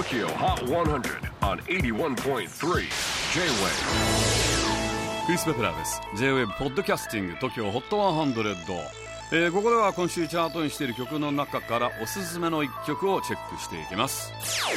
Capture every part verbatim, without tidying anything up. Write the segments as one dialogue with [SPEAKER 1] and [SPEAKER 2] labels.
[SPEAKER 1] Tokyo Hot one hundred on エイティワンポイントスリー J-Wave。
[SPEAKER 2] クリス・ベプラーです。 J-Wave ポッドキャスティング Tokyo Hot ワンハンドレッド、えー、ここでは今週チャートにしている曲の中からおすすめのいっきょくをチェックしていきます。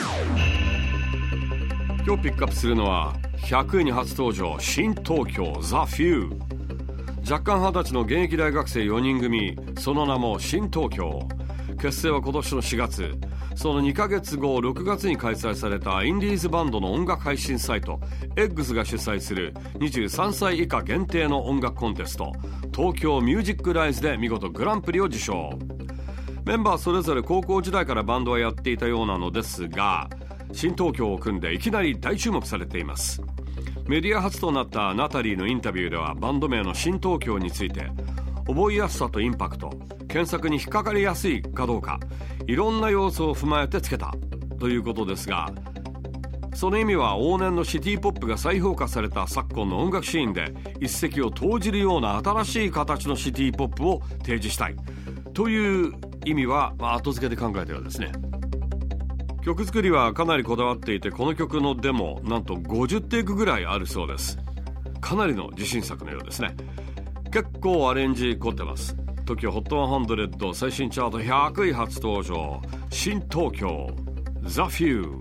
[SPEAKER 2] 今日ピックアップするのはひゃくいに初登場、新東京 The Few。 若干はたちの現役大学生よにん組、その名も新東京。結成は今年のしがつ。そのにかげつご、ろくがつに開催されたインディーズバンドの音楽配信サイト エッグス が主催するにじゅうさんさい以下限定の音楽コンテスト、東京ミュージックライズで見事グランプリを受賞。メンバーそれぞれ高校時代からバンドはやっていたようなのですが、新東京を組んでいきなり大注目されています。メディア初となったナタリーのインタビューでは、バンド名の新東京について、覚えやすさとインパクト、検索に引っかかりやすいかどうか、いろんな要素を踏まえてつけたということですが、その意味は往年のシティポップが再評価された昨今の音楽シーンで一石を投じるような新しい形のシティポップを提示したいという意味は、まあ、後付けで考えたようですね。曲作りはかなりこだわっていて、この曲のデモなんとごじゅうテイクぐらいあるそうです。かなりの自信作のようですね。結構アレンジ凝ってます。 Tokyo ホットハンドレッド最新チャートひゃくい初登場、新東京 The Few。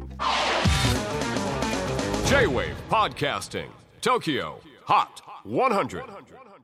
[SPEAKER 1] J-Wave Podcasting Tokyo Hot ワンハンドレッド